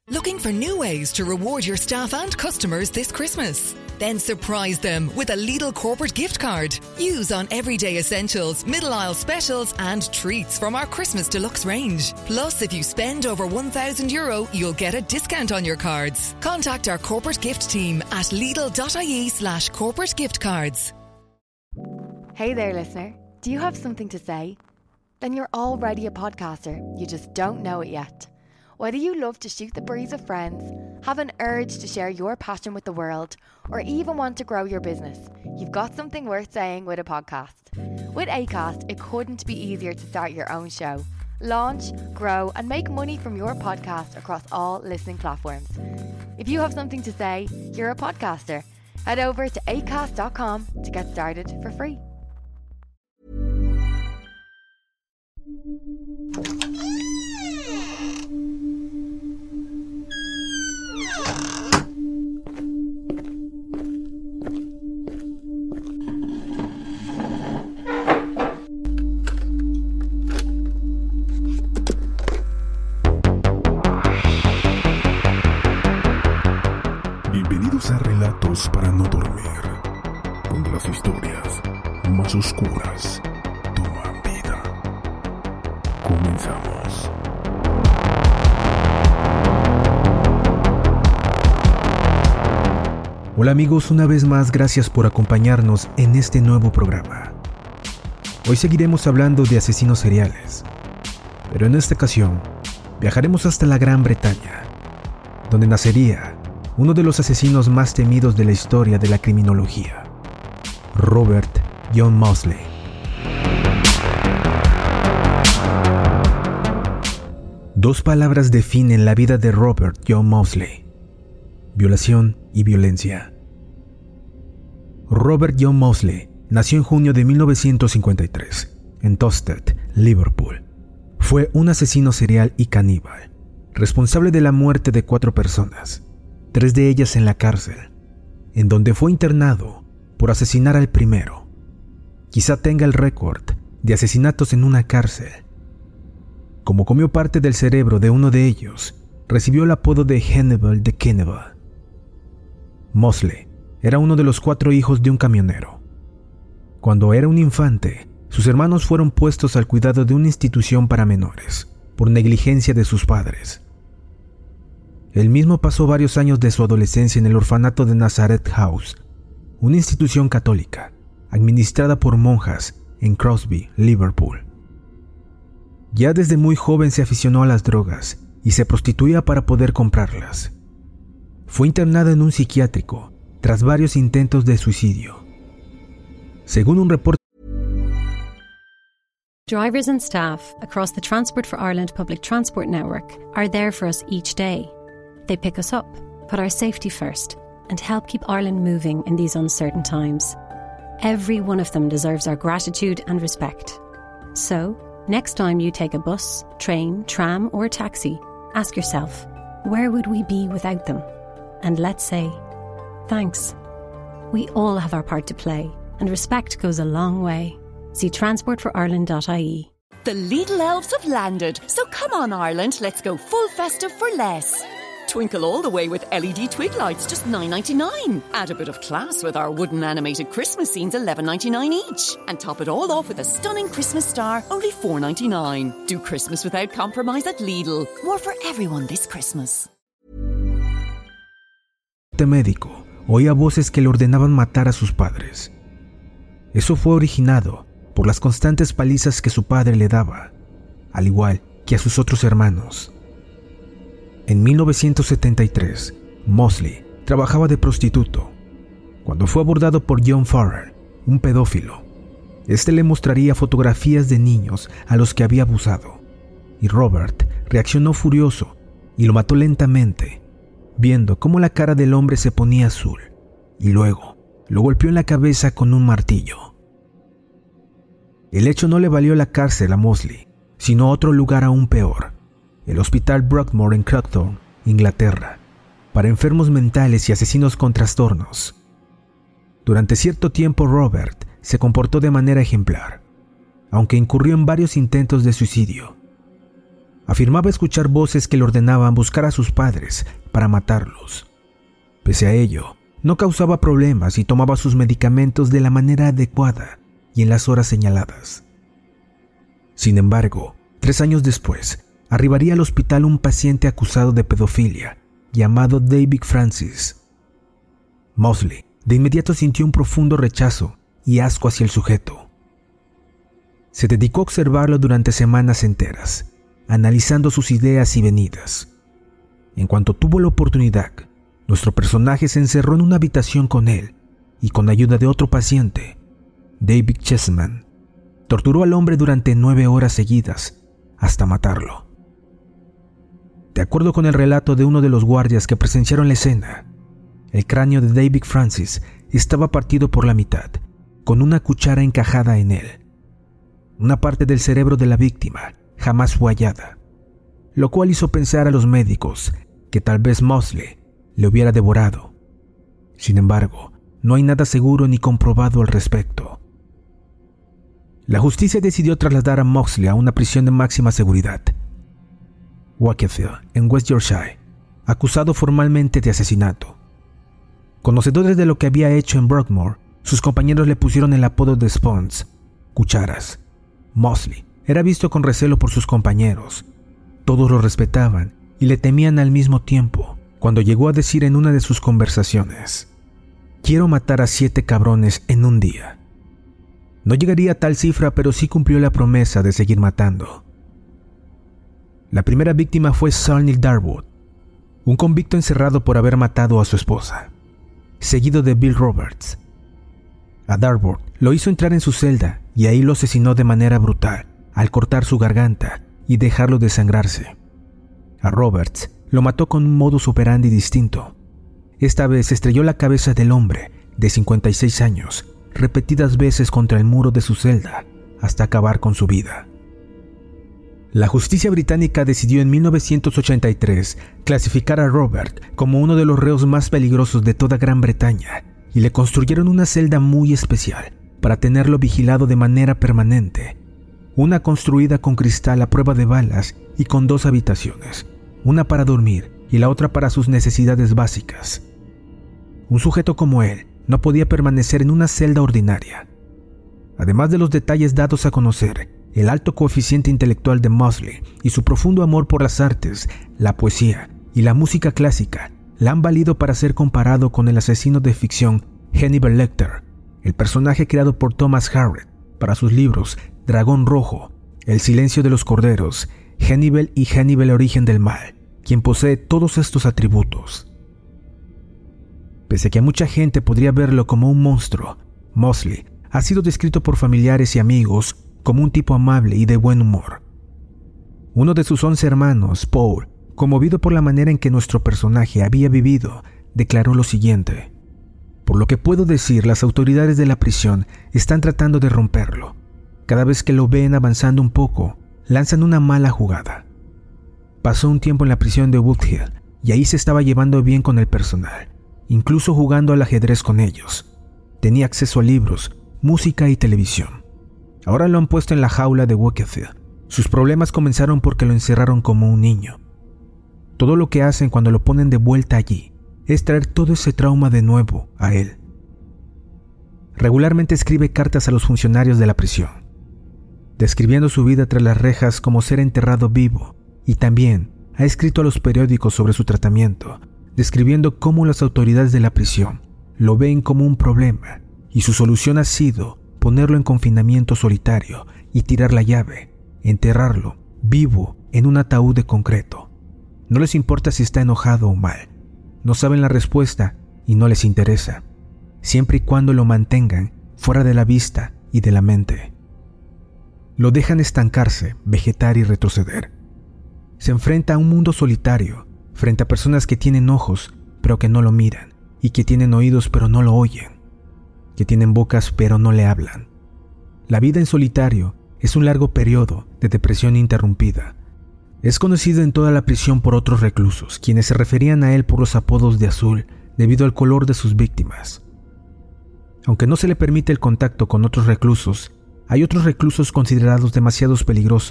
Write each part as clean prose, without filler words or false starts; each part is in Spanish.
Looking for new ways to reward your staff and customers this Christmas? Then surprise them with a Lidl corporate gift card. Use on everyday essentials, middle aisle specials and treats from our Christmas Deluxe range. Plus, if you spend over €1,000, you'll get a discount on your cards. Contact our corporate gift team at lidl.ie/corporate gift cards. Hey there, listener. Do you have something to say? Then you're already a podcaster. You just don't know it yet. Whether you love to shoot the breeze with friends, have an urge to share your passion with the world, or even want to grow your business, you've got something worth saying with a podcast. With Acast, it couldn't be easier to start your own show. Launch, grow, and make money from your podcast across all listening platforms. If you have something to say, you're a podcaster. Head over to acast.com to get started for free. Bienvenidos a Relatos para no dormir, donde las historias más oscuras toman vida. Comenzamos. Hola amigos, una vez más gracias por acompañarnos en este nuevo programa. Hoy seguiremos hablando de asesinos seriales, pero en esta ocasión viajaremos hasta la Gran Bretaña, donde nacería uno de los asesinos más temidos de la historia de la criminología, Robert John Mosley. Dos palabras definen la vida de Robert John Mosley: violación y violencia. Robert John Mosley nació en junio de 1953 en Towcester, Liverpool. Fue un asesino serial y caníbal, responsable de la muerte de 4 personas, 3 de ellas en la cárcel, en donde fue internado por asesinar al primero. Quizá tenga el récord de asesinatos en una cárcel. Como comió parte del cerebro de uno de ellos, recibió el apodo de Hannibal the Cannibal. Mosley era uno de los 4 hijos de un camionero. Cuando era un infante, sus hermanos fueron puestos al cuidado de una institución para menores, por negligencia de sus padres. Él mismo pasó varios años de su adolescencia en el orfanato de Nazareth House, una institución católica, administrada por monjas en Crosby, Liverpool. Ya desde muy joven se aficionó a las drogas y se prostituía para poder comprarlas. Fue internado en un psiquiátrico tras varios intentos de suicidio. Según un reporte, drivers and staff across the Transport for Ireland public transport network are there for us each day. They pick us up, put our safety first, and help keep Ireland moving in these uncertain times. Every one of them deserves our gratitude and respect. So, next time you take a bus, train, tram, or taxi, ask yourself, where would we be without them? And let's say, thanks. We all have our part to play, and respect goes a long way. See transportorireland.ie. The Lidl elves have landed, so come on Ireland, let's go full festive for less. Twinkle all the way with LED twig lights, just $9.99. Add a bit of class with our wooden animated Christmas scenes, $11.99 each. And top it all off with a stunning Christmas star, only $4.99. Do Christmas without compromise at Lidl. More for everyone this Christmas. este médico oía voces que le ordenaban matar a sus padres. Eso fue originado por las constantes palizas que su padre le daba, al igual que a sus otros hermanos. En 1973, Mosley trabajaba de prostituto, cuando fue abordado por John Farrell, un pedófilo. Este le mostraría fotografías de niños a los que había abusado, y Robert reaccionó furioso y lo mató lentamente, viendo cómo la cara del hombre se ponía azul, y luego lo golpeó en la cabeza con un martillo. El hecho no le valió la cárcel a Mosley, sino otro lugar aún peor, el Hospital Broadmoor en Clacton, Inglaterra, para enfermos mentales y asesinos con trastornos. Durante cierto tiempo Robert se comportó de manera ejemplar, aunque incurrió en varios intentos de suicidio. Afirmaba escuchar voces que le ordenaban buscar a sus padres para matarlos. Pese a ello, no causaba problemas y tomaba sus medicamentos de la manera adecuada y en las horas señaladas. Sin embargo, 3 años después, arribaría al hospital un paciente acusado de pedofilia, llamado David Francis. Mosley de inmediato sintió un profundo rechazo y asco hacia el sujeto. Se dedicó a observarlo durante semanas enteras, analizando sus ideas y venidas. En cuanto tuvo la oportunidad, nuestro personaje se encerró en una habitación con él y con ayuda de otro paciente, David Chessman, torturó al hombre durante 9 horas seguidas hasta matarlo. De acuerdo con el relato de uno de los guardias que presenciaron la escena, el cráneo de David Francis estaba partido por la mitad, con una cuchara encajada en él. Una parte del cerebro de la víctima jamás fue hallada, lo cual hizo pensar a los médicos que tal vez Mosley le hubiera devorado. Sin embargo, no hay nada seguro ni comprobado al respecto. La justicia decidió trasladar a Mosley a una prisión de máxima seguridad, Wakefield, en West Yorkshire, acusado formalmente de asesinato. Conocedores de lo que había hecho en Broadmoor, sus compañeros le pusieron el apodo de Sponge, cucharas. Mosley era visto con recelo por sus compañeros. Todos lo respetaban y le temían al mismo tiempo, cuando llegó a decir en una de sus conversaciones: «Quiero matar a 7 cabrones en un día». No llegaría a tal cifra, pero sí cumplió la promesa de seguir matando. La primera víctima fue Sarney Darwood, un convicto encerrado por haber matado a su esposa, seguido de Bill Roberts. A Darwood lo hizo entrar en su celda y ahí lo asesinó de manera brutal al cortar su garganta y dejarlo desangrarse. A Roberts lo mató con un modus operandi distinto. Esta vez estrelló la cabeza del hombre de 56 años repetidas veces contra el muro de su celda hasta acabar con su vida. La justicia británica decidió en 1983 clasificar a Robert como uno de los reos más peligrosos de toda Gran Bretaña y le construyeron una celda muy especial para tenerlo vigilado de manera permanente. Una construida con cristal a prueba de balas y con 2 habitaciones, una para dormir y la otra para sus necesidades básicas. Un sujeto como él no podía permanecer en una celda ordinaria. Además de los detalles dados a conocer, el alto coeficiente intelectual de Mosley y su profundo amor por las artes, la poesía y la música clásica la han valido para ser comparado con el asesino de ficción Hannibal Lecter, el personaje creado por Thomas Harriot para sus libros Dragón Rojo, El silencio de los corderos, Hannibal y Hannibal origen del mal, quien posee todos estos atributos. Pese a que mucha gente podría verlo como un monstruo, Mosley ha sido descrito por familiares y amigos como un tipo amable y de buen humor. Uno de sus 11 hermanos, Paul, conmovido por la manera en que nuestro personaje había vivido, declaró lo siguiente: «Por lo que puedo decir, las autoridades de la prisión están tratando de romperlo. Cada vez que lo ven avanzando un poco, lanzan una mala jugada». Pasó un tiempo en la prisión de Woodhill y ahí se estaba llevando bien con el personal, incluso jugando al ajedrez con ellos. Tenía acceso a libros, música y televisión. Ahora lo han puesto en la jaula de Wakefield. Sus problemas comenzaron porque lo encerraron como un niño. Todo lo que hacen cuando lo ponen de vuelta allí es traer todo ese trauma de nuevo a él. Regularmente escribe cartas a los funcionarios de la prisión, describiendo su vida tras las rejas como ser enterrado vivo, y también ha escrito a los periódicos sobre su tratamiento, describiendo cómo las autoridades de la prisión lo ven como un problema y su solución ha sido ponerlo en confinamiento solitario y tirar la llave, enterrarlo vivo en un ataúd de concreto. No les importa si está enojado o mal, no saben la respuesta y no les interesa, siempre y cuando lo mantengan fuera de la vista y de la mente. Lo dejan estancarse, vegetar y retroceder. Se enfrenta a un mundo solitario, frente a personas que tienen ojos pero que no lo miran, y que tienen oídos pero no lo oyen, que tienen bocas pero no le hablan. La vida en solitario es un largo periodo de depresión interrumpida. Es conocido en toda la prisión por otros reclusos, quienes se referían a él por los apodos de azul debido al color de sus víctimas. Aunque no se le permite el contacto con otros reclusos, hay otros reclusos considerados demasiado peligrosos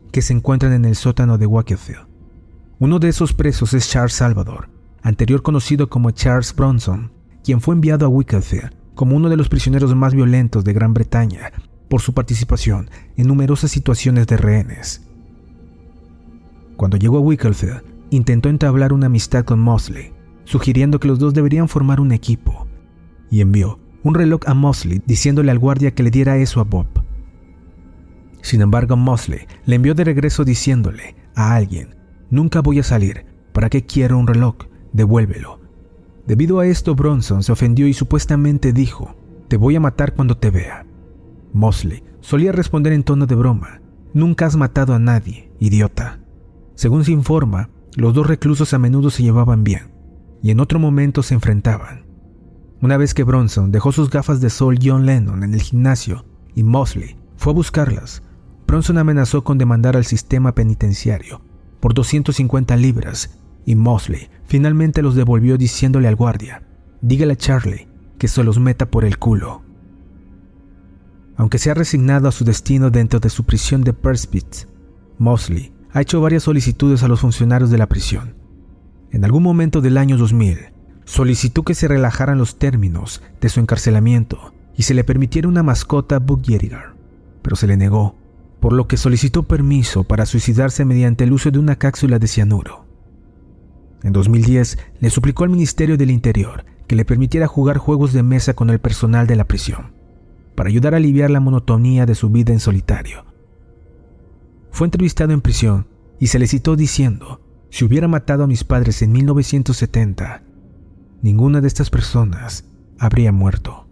que se encuentran en el sótano de Wakefield. Uno de esos presos es Charles Salvador, anterior conocido como Charles Bronson, quien fue enviado a Wakefield como uno de los prisioneros más violentos de Gran Bretaña por su participación en numerosas situaciones de rehenes. Cuando llegó a Wakefield, intentó entablar una amistad con Mosley, sugiriendo que los dos deberían formar un equipo, y envió un reloj a Mosley diciéndole al guardia que le diera eso a Bob. Sin embargo, Mosley le envió de regreso diciéndole a alguien: «Nunca voy a salir, ¿para qué quiero un reloj? Devuélvelo». Debido a esto, Bronson se ofendió y supuestamente dijo: «Te voy a matar cuando te vea». Mosley solía responder en tono de broma: «Nunca has matado a nadie, idiota». Según se informa, los dos reclusos a menudo se llevaban bien, y en otro momento se enfrentaban. Una vez que Bronson dejó sus gafas de sol John Lennon en el gimnasio y Mosley fue a buscarlas, Bronson amenazó con demandar al sistema penitenciario por 250 libras y Mosley finalmente los devolvió diciéndole al guardia: «Dígale a Charlie que se los meta por el culo». Aunque se ha resignado a su destino dentro de su prisión de Perspitz, Mosley ha hecho varias solicitudes a los funcionarios de la prisión. En algún momento del año 2000, solicitó que se relajaran los términos de su encarcelamiento y se le permitiera una mascota Buggyerigar, pero se le negó, por lo que solicitó permiso para suicidarse mediante el uso de una cápsula de cianuro. En 2010, le suplicó al Ministerio del Interior que le permitiera jugar juegos de mesa con el personal de la prisión, para ayudar a aliviar la monotonía de su vida en solitario. Fue entrevistado en prisión y se le citó diciendo: «Si hubiera matado a mis padres en 1970, ninguna de estas personas habría muerto».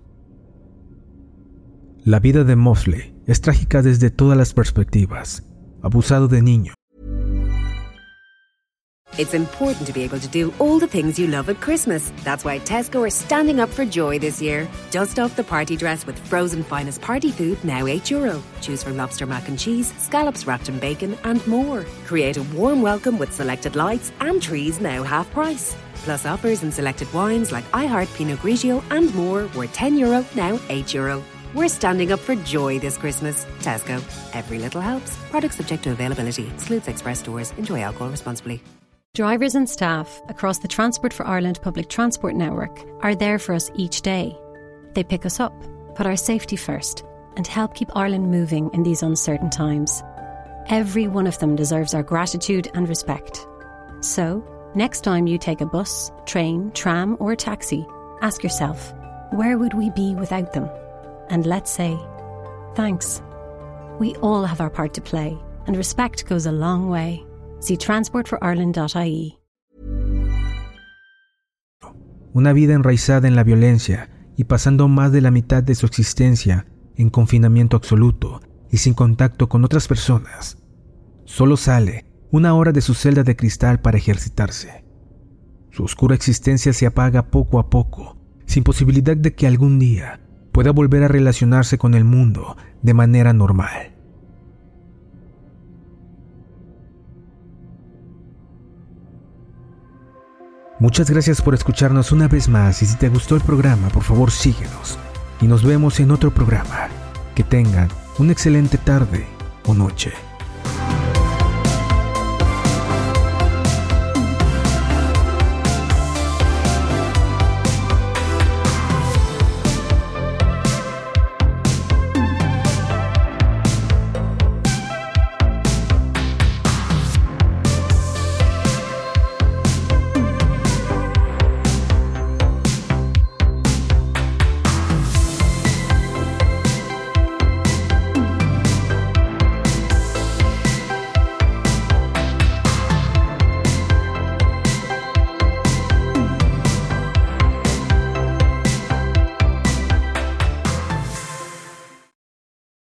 La vida de Mosley es trágica desde todas las perspectivas. Abusado de niño. It's important to be able to do all the things you love at Christmas. That's why Tesco are standing up for joy this year. Dust off the party dress with frozen finest party food, now €8. Choose from lobster mac and cheese, scallops wrapped in bacon, and more. Create a warm welcome with selected lights and trees, now half price. Plus offers in selected wines like iHeart Pinot Grigio and more, worth €10, now €8. We're standing up for joy this Christmas. Tesco. Every little helps. Products subject to availability. Excludes Express stores. Enjoy alcohol responsibly. Drivers and staff across the Transport for Ireland public transport network are there for us each day. They pick us up, put our safety first, and help keep Ireland moving in these uncertain times. Every one of them deserves our gratitude and respect. So, next time you take a bus, train, tram or taxi, ask yourself, where would we be without them? And let's say, thanks. We all have our part to play, and respect goes a long way. See transportforireland.ie. Una vida enraizada en la violencia y pasando más de la mitad de su existencia en confinamiento absoluto y sin contacto con otras personas. Solo sale 1 hora de su celda de cristal para ejercitarse. Su oscura existencia se apaga poco a poco, sin posibilidad de que algún día pueda volver a relacionarse con el mundo de manera normal. Muchas gracias por escucharnos una vez más y si te gustó el programa, por favor síguenos y nos vemos en otro programa. Que tengan una excelente tarde o noche.